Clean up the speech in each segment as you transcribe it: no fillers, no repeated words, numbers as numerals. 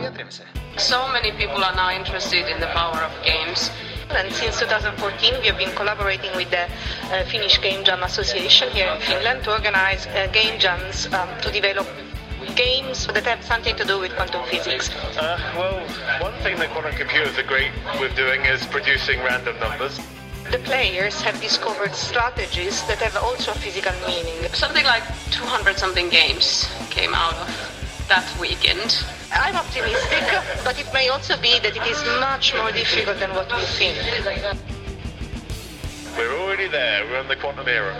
So many people are now interested in the power of games. And since 2014 we have been collaborating with the Finnish Game Jam Association here in Finland to organize game jams to develop games that have something to do with quantum physics. Well, one thing that quantum computers are great with doing is producing random numbers. The players have discovered strategies that have also a physical meaning. Something like 200-something games came out of that weekend. I'm optimistic, but it may also be that it is much more difficult than what we think. We're already there. We're in the quantum era.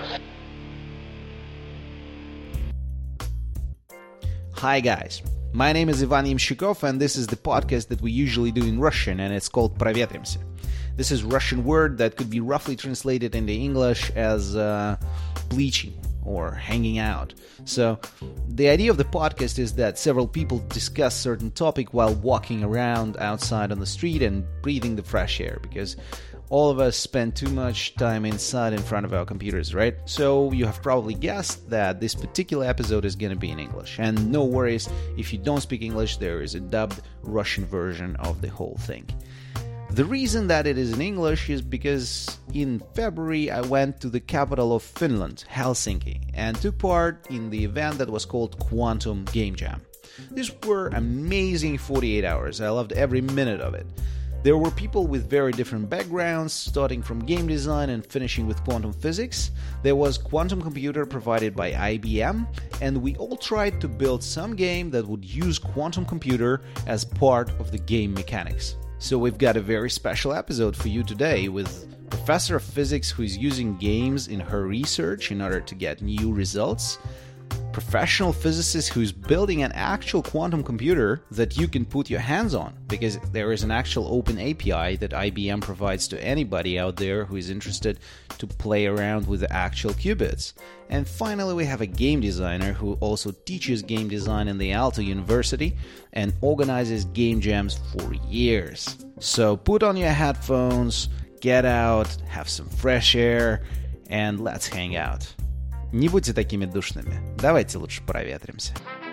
Hi guys, my name is Ivan Yemshikov, and this is the podcast that we usually do in Russian, and it's called Проветримся. This is a Russian word that could be roughly translated into English as bleaching or hanging out. So the idea of the podcast is that several people discuss certain topic while walking around outside on the street and breathing the fresh air, because all of us spend too much time inside in front of our computers, right? So you have probably guessed that this particular episode is going to be in English. And no worries, if you don't speak English, there is a dubbed Russian version of the whole thing. The reason that it is in English is because in February I went to the capital of Finland, Helsinki, and took part in the event that was called Quantum Game Jam. These were amazing 48 hours. I loved every minute of it. There were people with very different backgrounds, starting from game design and finishing with quantum physics. There was quantum computer provided by IBM, and we all tried to build some game that would use quantum computer as part of the game mechanics. So we've got a very special episode for you today with Professor of Physics who is using games in her research in order to get new results, professional physicist who's building an actual quantum computer that you can put your hands on, because there is an actual open API that IBM provides to anybody out there who is interested to play around with the actual qubits. And finally, we have a game designer who also teaches game design in the Aalto University and organizes game jams for years. So put on your headphones, get out, have some fresh air, and let's hang out. Не будьте такими душными. Давайте лучше проветримся.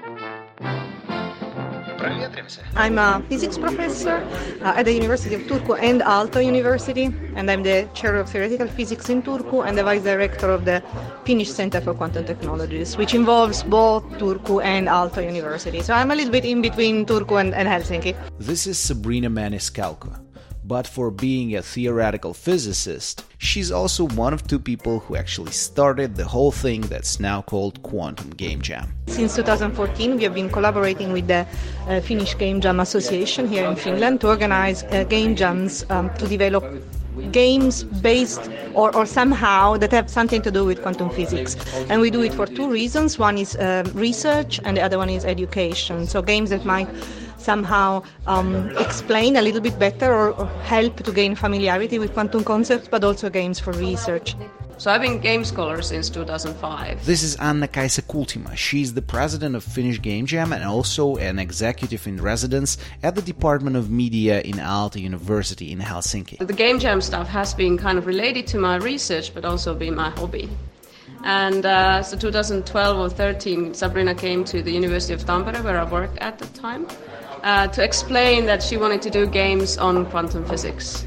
I'm a physics professor at the University of Turku and Aalto University, and I'm the chair of theoretical physics in Turku and the vice director of the Finnish Center for Quantum Technologies, which involves both Turku and Aalto University. So I'm a little bit in between Turku and Helsinki. This is Sabrina Maniscalco. But for being a theoretical physicist, she's also one of two people who actually started the whole thing that's now called Quantum Game Jam. Since 2014, we have been collaborating with the Finnish Game Jam Association here in Finland to organize game jams to develop games based or somehow that have something to do with quantum physics. And we do it for two reasons. One is research and the other one is education. So games that might somehow explain a little bit better or help to gain familiarity with quantum concepts, but also games for research. So I've been game scholar since 2005. This is Anna-Kaisa Kultima. She's the president of Finnish Game Jam and also an executive in residence at the Department of Media in Aalto University in Helsinki. The game jam stuff has been kind of related to my research, but also been my hobby. And so 2012 or 13, Sabrina came to the University of Tampere, where I worked at the time, to explain that she wanted to do games on quantum physics.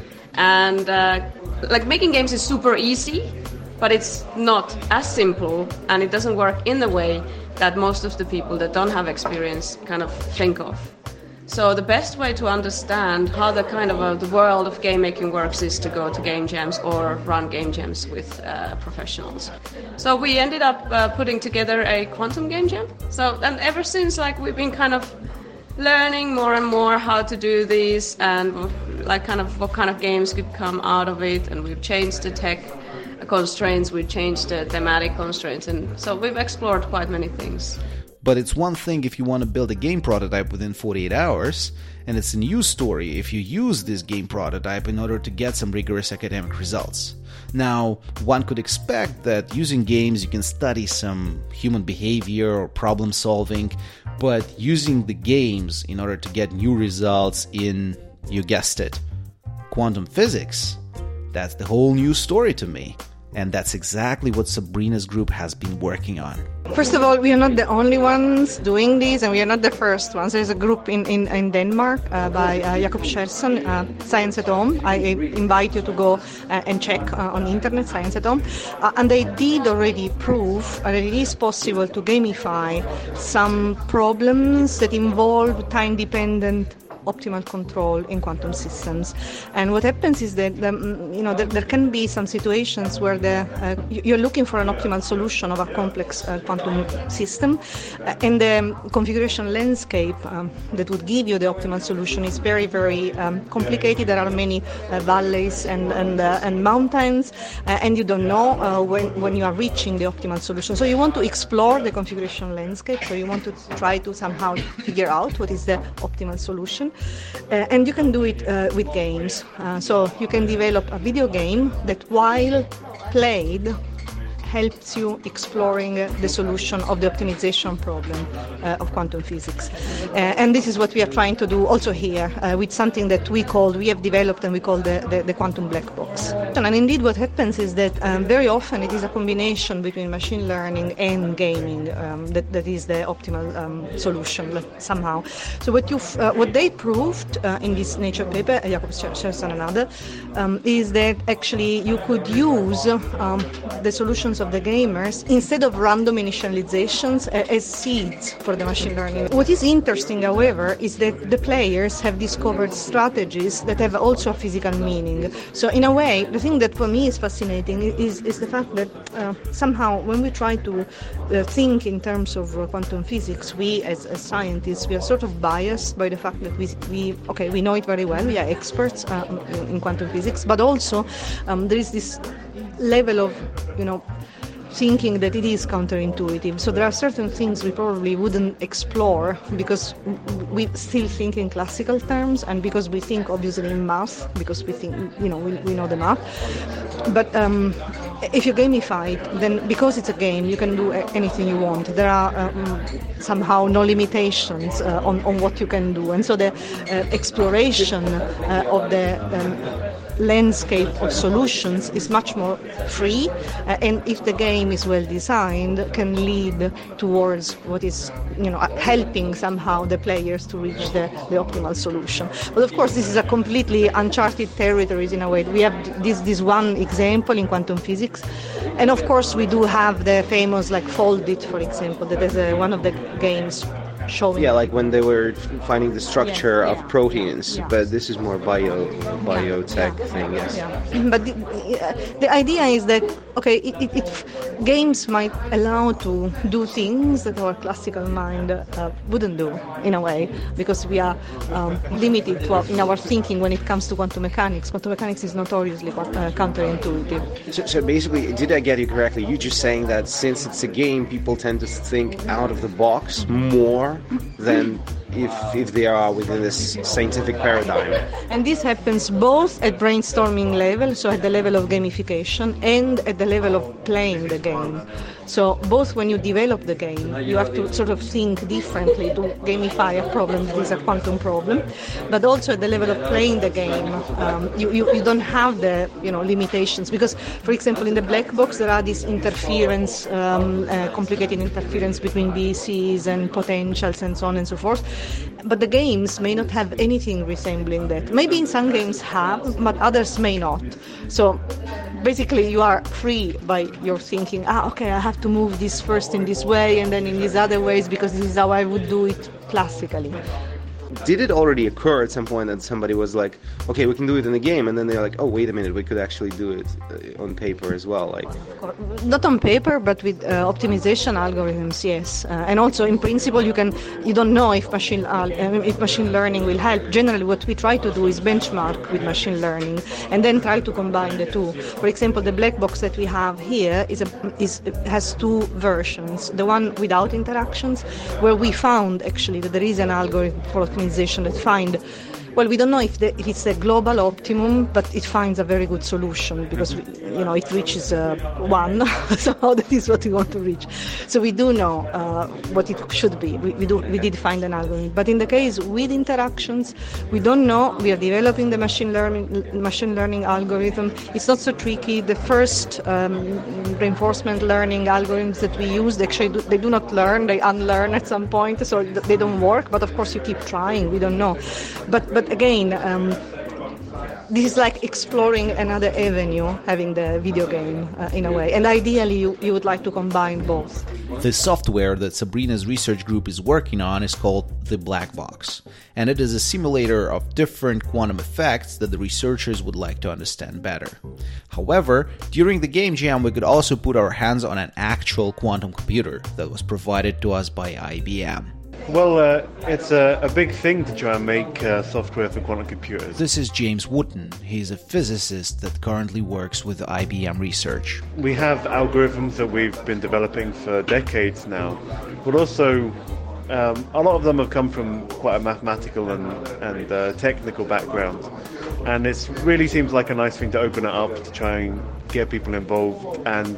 And making games is super easy, but it's not as simple, and it doesn't work in the way that most of the people that don't have experience kind of think of. So the best way to understand how the kind of the world of game making works is to go to game jams or run game jams with professionals. So we ended up putting together a quantum game jam. So and ever since, we've been kind of learning more and more how to do these and what kind of games could come out of it. And we've changed the tech constraints, we've changed the thematic constraints, and so we've explored quite many things. But it's one thing if you want to build a game prototype within 48 hours, and it's a news story if you use this game prototype in order to get some rigorous academic results. Now, one could expect that using games you can study some human behavior or problem solving, but using the games in order to get new results in, you guessed it, quantum physics, that's the whole new story to me. And that's exactly what Sabrina's group has been working on. First of all, we are not the only ones doing this, and we are not the first ones. There's a group in Denmark by Jakob Scherson, Science at Home. I invite you to go and check on internet, Science at Home. And they did already prove that it is possible to gamify some problems that involve time-dependent optimal control in quantum systems. And what happens is that there can be some situations where you're looking for an optimal solution of a complex quantum system, and the configuration landscape that would give you the optimal solution is very, very complicated. There are many valleys and mountains, and you don't know when you are reaching the optimal solution. So you want to explore the configuration landscape, so you want to try to somehow figure out what is the optimal solution. And you can do it with games. So you can develop a video game that, while played, helps you exploring the solution of the optimization problem of quantum physics. And this is what we are trying to do also here with something that we have developed and we call the quantum black box. And indeed what happens is that very often it is a combination between machine learning and gaming that is the optimal solution somehow. So what they proved in this Nature paper, Jakob Scherson and others, is that actually you could use the solutions of the gamers instead of random initializations as seeds for the machine learning. What is interesting, however, is that the players have discovered strategies that have also a physical meaning. So in a way, the thing that for me is fascinating is the fact that somehow when we try to think in terms of quantum physics, we as scientists, we are sort of biased by the fact that we know it very well, we are experts in quantum physics, but also there is this level of thinking that it is counterintuitive. So there are certain things we probably wouldn't explore because we still think in classical terms, and because we think obviously in math, because we think we know the math. But if you gamify it, then because it's a game, you can do anything you want. There are somehow no limitations on what you can do, and so the exploration of the landscape of solutions is much more free, and if the game is well designed, can lead towards what is helping somehow the players to reach the optimal solution. But of course this is a completely uncharted territories in a way. We have this one example in quantum physics, and of course we do have the famous Foldit, for example, that is one of the games showing. Yeah, like when they were finding the structure of proteins, but this is more biotech thing, yes. Yeah. But the idea is that, games might allow to do things that our classical mind wouldn't do, in a way, because we are limited in our thinking when it comes to quantum mechanics. Quantum mechanics is notoriously counterintuitive. So basically, did I get you correctly? You're just saying that since it's a game, people tend to think out of the box more than if they are within this scientific paradigm. And this happens both at brainstorming level, so at the level of gamification, and at the level of playing the game. So both when you develop the game, you have to sort of think differently to gamify a problem that is a quantum problem, but also at the level of playing the game, you don't have the limitations, because, for example, in the black box there are this interference, complicated interference between BCs and potentials and so on and so forth. But the games may not have anything resembling that. Maybe in some games have, but others may not. So basically you are free by your thinking, I have to move this first in this way and then in these other ways because this is how I would do it classically. Did it already occur at some point that somebody was like, okay, we can do it in the game, and then they're like, oh, wait a minute, we could actually do it on paper as well? Not on paper, but with optimization algorithms, yes. And also, in principle, you don't know if machine learning will help. Generally, what we try to do is benchmark with machine learning, and then try to combine the two. For example, the black box that we have here has two versions. The one without interactions, where we found actually that there is an algorithm for optimization that find Well, we don't know if it's a global optimum, but it finds a very good solution because it reaches 1, so that is what we want to reach. So we do know what it should be. We did find an algorithm, but in the case with interactions, we don't know. We are developing the machine learning algorithm. It's not so tricky. The first reinforcement learning algorithms that we use, they do not learn; they unlearn at some point, so they don't work. But of course, you keep trying. We don't know, but again, this is like exploring another avenue, having the video game in a way. And ideally, you would like to combine both. The software that Sabrina's research group is working on is called the Black Box, and it is a simulator of different quantum effects that the researchers would like to understand better. However, during the game jam, we could also put our hands on an actual quantum computer that was provided to us by IBM. Well, it's a big thing to try and make software for quantum computers. This is James Wooten. He's a physicist that currently works with IBM Research. We have algorithms that we've been developing for decades now, but also a lot of them have come from quite a mathematical and technical background. And it really seems like a nice thing to open it up to try and get people involved and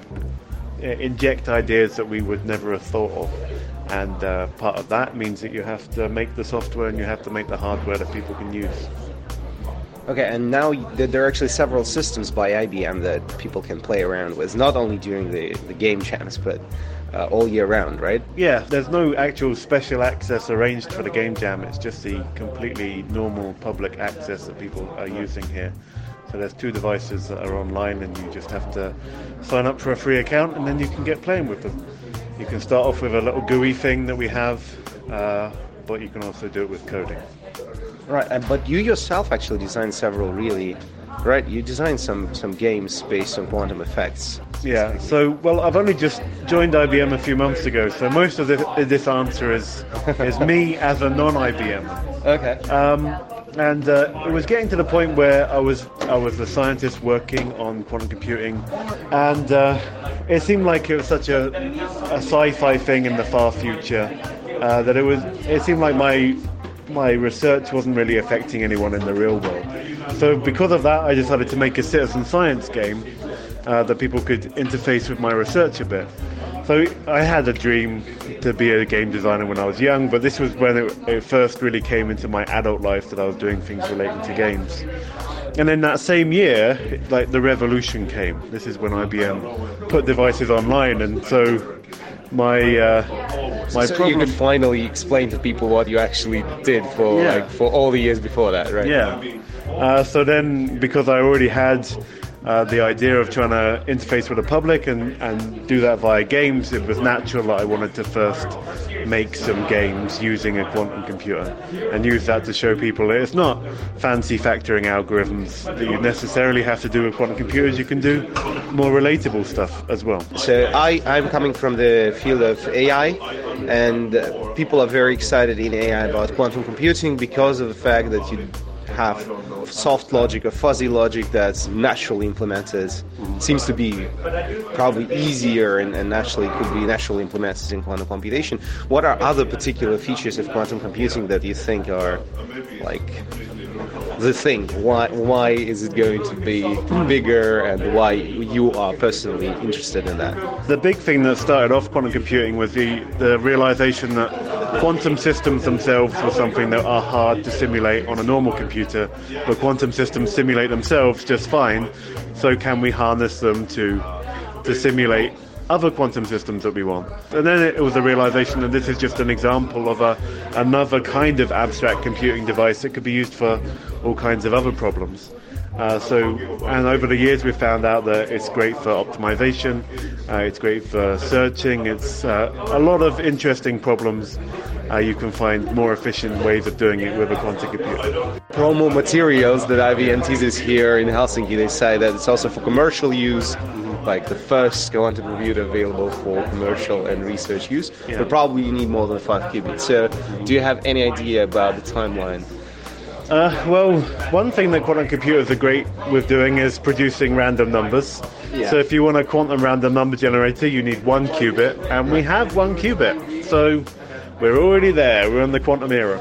inject ideas that we would never have thought of. And part of that means that you have to make the software and you have to make the hardware that people can use. Okay, and now there are actually several systems by IBM that people can play around with, not only during the game jams, but all year round, right? Yeah, there's no actual special access arranged for the game jam. It's just the completely normal public access that people are using here. So there's 2 devices that are online and you just have to sign up for a free account and then you can get playing with them. You can start off with a little GUI thing that we have, but you can also do it with coding. Right, but you yourself actually designed several right? You designed some games based on quantum effects. Yeah, so, well, I've only just joined IBM a few months ago, so most of this answer is me as a non-IBM. Okay. And it was getting to the point where I was the scientist working on quantum computing, and it seemed like it was such a sci-fi thing in the far future that it seemed like my research wasn't really affecting anyone in the real world. So because of that, I decided to make a citizen science game that people could interface with my research a bit. So I had a dream to be a game designer when I was young, but this was when it first really came into my adult life that I was doing things relating to games. And then that same year, like the revolution came. This is when IBM put devices online, and so my problem... you could finally explain to people what you actually did for all the years before that, right? Yeah. So then, because I already had the idea of trying to interface with the public and do that via games, it was natural that I wanted to first make some games using a quantum computer and use that to show people that it's not fancy factoring algorithms that you necessarily have to do with quantum computers. You can do more relatable stuff as well. So I'm coming from the field of AI, and people are very excited in AI about quantum computing because of the fact that you have soft logic or fuzzy logic that's naturally implemented. Seems to be probably easier and could be naturally implemented in quantum computation. What are other particular features of quantum computing that you think are like the thing? Why is it going to be bigger, and why you are personally interested in that? The big thing that started off quantum computing was the realization that quantum systems themselves were something that are hard to simulate on a normal computer, but quantum systems simulate themselves just fine. So can we harness them to simulate other quantum systems that we want? And then it was a realization that this is just an example of another kind of abstract computing device that could be used for all kinds of other problems. And over the years we've found out that it's great for optimization, it's great for searching, it's a lot of interesting problems. You can find more efficient ways of doing it with a quantum computer. Promo materials that IBM teases here in Helsinki, they say that it's also for commercial use, like the first quantum computer available for commercial and research use, but probably you need more than 5 qubits. So do you have any idea about the timeline? Well, one thing that quantum computers are great with doing is producing random numbers. Yeah. So if you want a quantum random number generator, you need 1 qubit, and we have 1 qubit. So we're already there. We're in the quantum era.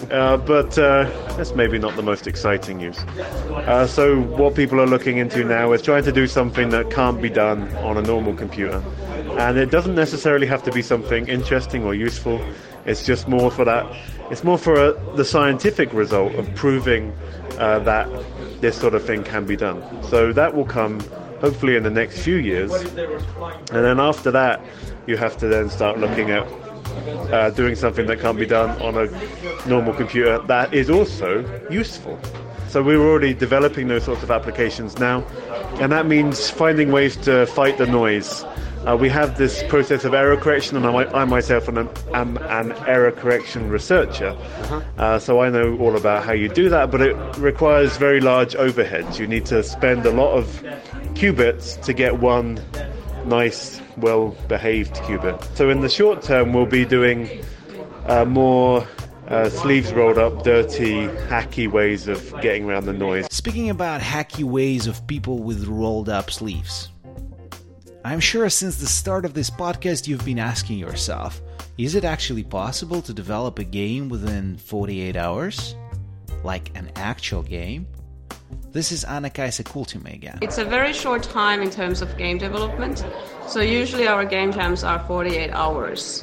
but that's maybe not the most exciting use. So what people are looking into now is trying to do something that can't be done on a normal computer. And it doesn't necessarily have to be something interesting or useful. It's just more for that. It's more for the scientific result of proving that this sort of thing can be done. So that will come hopefully in the next few years. And then after that, you have to then start looking at doing something that can't be done on a normal computer that is also useful. So we're already developing those sorts of applications now, and that means finding ways to fight the noise. We have this process of error correction, and I myself am an error correction researcher, so I know all about how you do that, but it requires very large overheads. You need to spend a lot of qubits to get one nice, well-behaved qubit. So in the short term, we'll be doing more sleeves rolled up, dirty, hacky ways of getting around the noise. Speaking about hacky ways of people with rolled up sleeves, I'm sure since the start of this podcast you've been asking yourself, is it actually possible to develop a game within 48 hours? Like an actual game? This is Anna-Kaisa Kultimäe again. It's a very short time in terms of game development. So usually our game jams are 48 hours.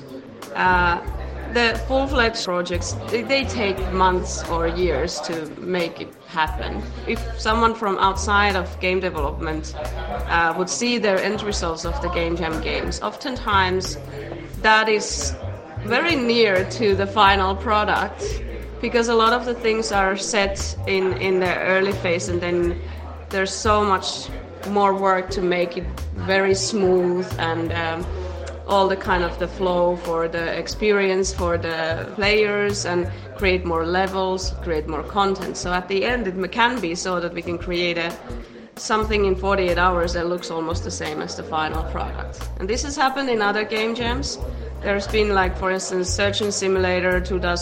The full-fledged projects, they take months or years to make it happen. If someone from outside of game development would see their end results of the game jam games, oftentimes that is very near to the final product, because a lot of the things are set in the early phase, and then there's so much more work to make it very smooth and all the kind of the flow for the experience for the players, and create more levels, create more content. So at the end it can be so that we can create something in 48 hours that looks almost the same as the final product. And this has happened in other game jams. There's been, like, for instance, Surgeon Simulator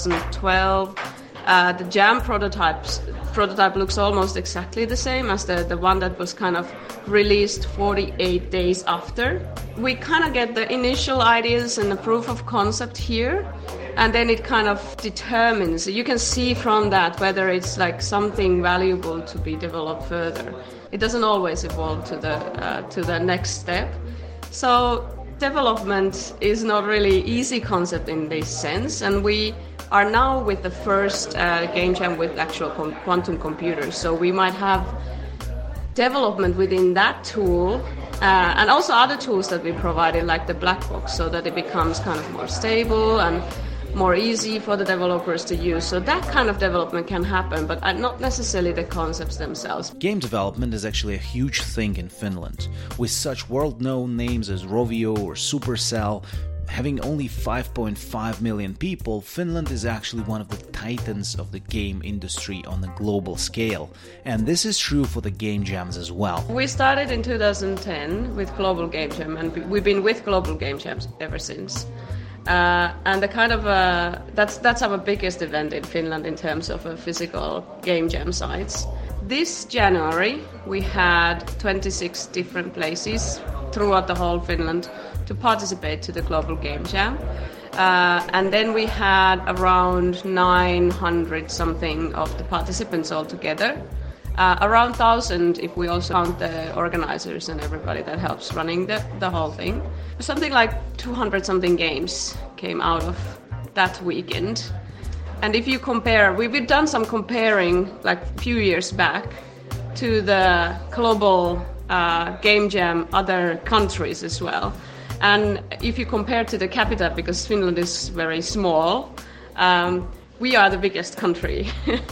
2012. The jam prototype looks almost exactly the same as the one that was kind of released 48 days after. We kind of get the initial ideas and the proof of concept here, and then it kind of determines, you can see from that whether it's like something valuable to be developed further. It doesn't always evolve to the next step. So development is not really easy concept in this sense, and we are now with the first game jam with actual quantum computers. So we might have development within that tool, and also other tools that we provided, like the black box, so that it becomes kind of more stable and more easy for the developers to use. So that kind of development can happen, but not necessarily the concepts themselves. Game development is actually a huge thing in Finland. With such world-known names as Rovio or Supercell, having only 5.5 million people, Finland is actually one of the titans of the game industry on a global scale. And this is true for the game jams as well. We started in 2010 with Global Game Jam, and we've been with Global Game Jams ever since. And the kind of that's our biggest event in Finland in terms of physical game jam sites. This January we had 26 different places throughout the whole Finland to participate to the Global Game Jam, and then we had around 900 something of the participants altogether. Around 1,000 if we also count the organizers and everybody that helps running the whole thing. Something like 200 something games came out of that weekend. And if you compare, we've done some comparing like a few years back to the global game jam other countries as well. And if you compare to the capita, because Finland is very small, we are the biggest country.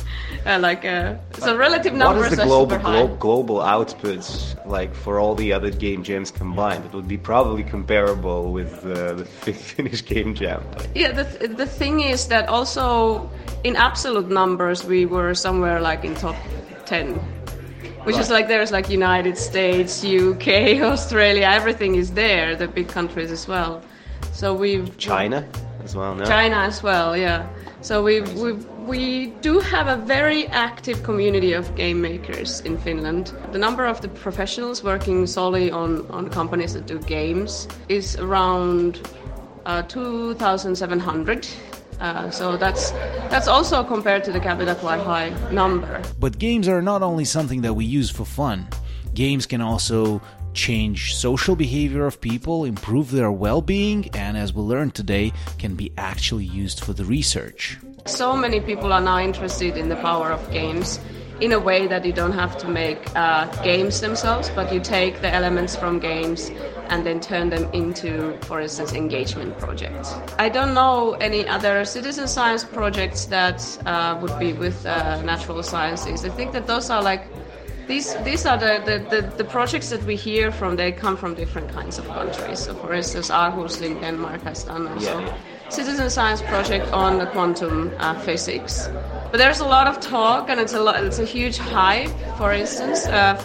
So relative numbers are super high. What is the global outputs like for all the other game jams combined? It would be probably comparable with the Finnish game jam. Yeah, the thing is that also in absolute numbers we were somewhere like in top 10. Which is like there's like United States, UK, Australia, everything is there, the big countries as well. So China as well, no? China as well, yeah. So we do have a very active community of game makers in Finland. The number of the professionals working solely on companies that do games is around 2,700. So that's also compared to the capita quite high number. But games are not only something that we use for fun. Games can also change social behavior of people, improve their well-being, and as we learned today, can be actually used for the research. So many people are now interested in the power of games in a way that you don't have to make games themselves, but you take the elements from games and then turn them into, for instance, engagement projects. I don't know any other citizen science projects that would be with natural sciences. I think that those are like these are the projects that we hear from. They come from different kinds of countries. So, for instance, Aarhus in Denmark has done also citizen science project on the quantum physics. But there's a lot of talk, and it's a huge hype, for instance,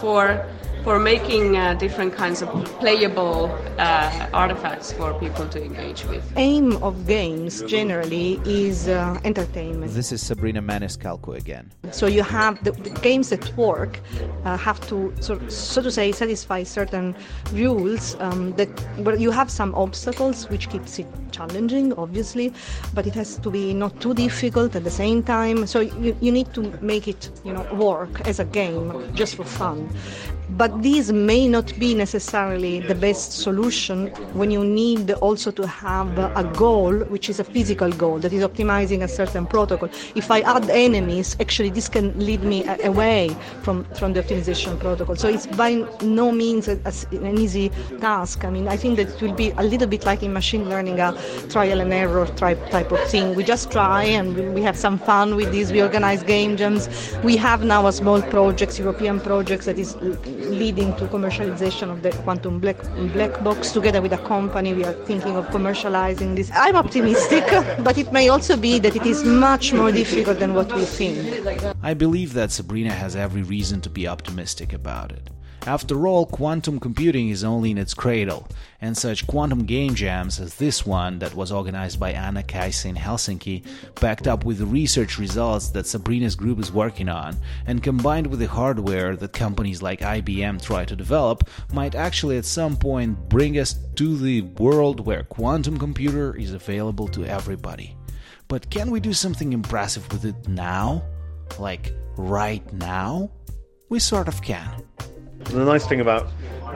for making different kinds of playable artifacts for people to engage with. Aim of games generally is entertainment. This is Sabrina Maniscalco again. So you have the games that work have to, so to say, satisfy certain rules that where you have some obstacles, which keeps it challenging, obviously, but it has to be not too difficult at the same time. So you need to make it, work as a game just for fun. But these may not be necessarily the best solution when you need also to have a goal, which is a physical goal, that is optimizing a certain protocol. If I add enemies, actually this can lead me away from the optimization protocol. So it's by no means an easy task. I mean, I think that it will be a little bit like in machine learning, a trial and error type of thing. We just try and we have some fun with this. We organize game jams. We have now a small project, European projects, that is leading to commercialization of the quantum black box. Together with a company, we are thinking of commercializing this. I'm optimistic, but it may also be that it is much more difficult than what we think. I believe that Sabrina has every reason to be optimistic about it. After all, quantum computing is only in its cradle, and such quantum game jams as this one that was organized by Anna Kaisa in Helsinki, backed up with the research results that Sabrina's group is working on, and combined with the hardware that companies like IBM try to develop, might actually at some point bring us to the world where quantum computer is available to everybody. But can we do something impressive with it now? Like, right now? We sort of can. The nice thing about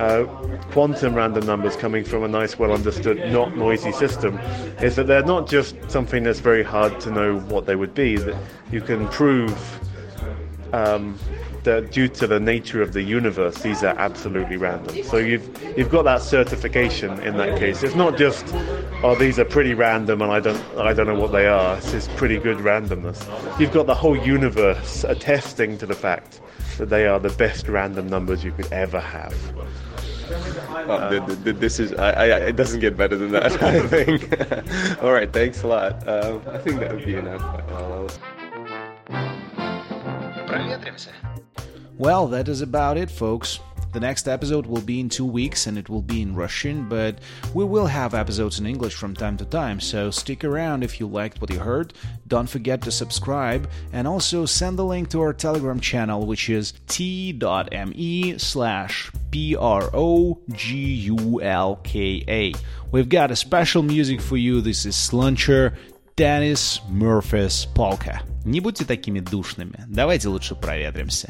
quantum random numbers coming from a nice, well-understood, not noisy system is that they're not just something that's very hard to know what they would be. That you can prove that due to the nature of the universe, these are absolutely random. So you've got that certification in that case. It's not just, these are pretty random and I don't know what they are. It's just pretty good randomness. You've got the whole universe attesting to the fact that they are the best random numbers you could ever have. This is it doesn't get better than that, I think. All right, thanks a lot. I think that would be enough. Well, that is about it, folks. The next episode will be in 2 weeks and it will be in Russian, but we will have episodes in English from time to time, so stick around if you liked what you heard. Don't forget to subscribe and also send the link to our Telegram channel, which is t.me/PROGULKA. We've got a special music for you. This is Sluncher, Dennis Murphy's Polka. Не будьте такими душными. Давайте лучше проветримся.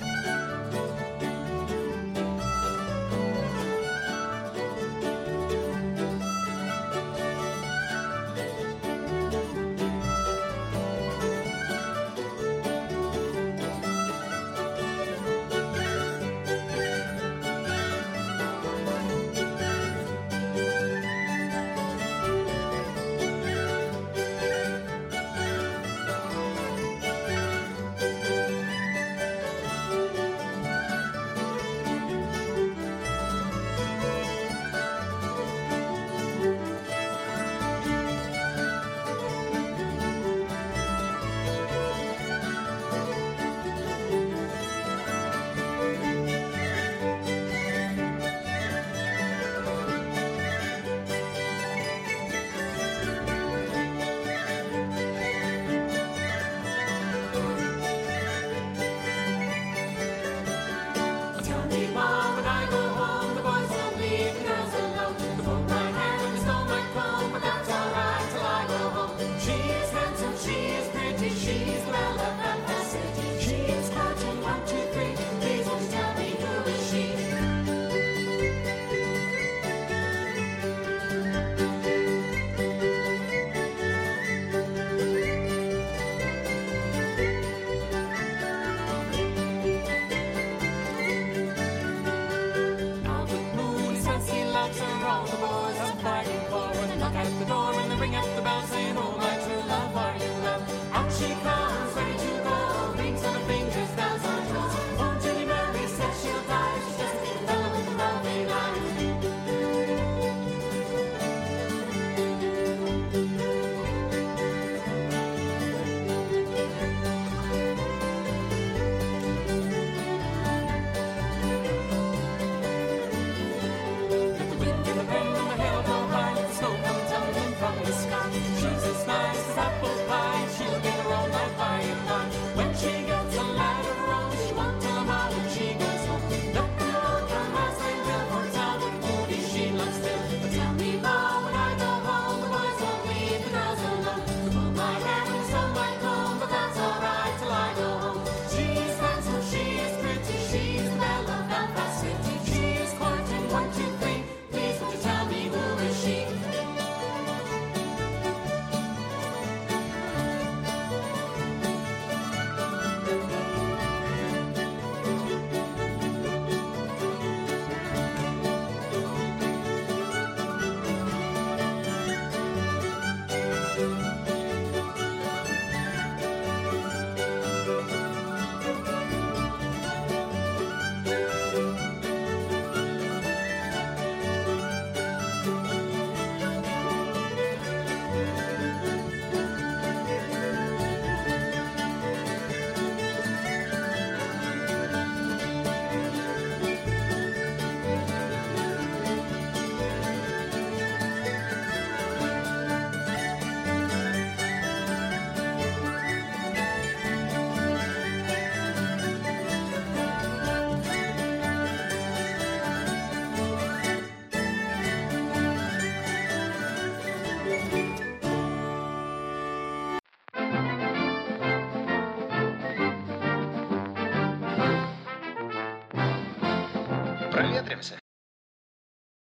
Проветримся.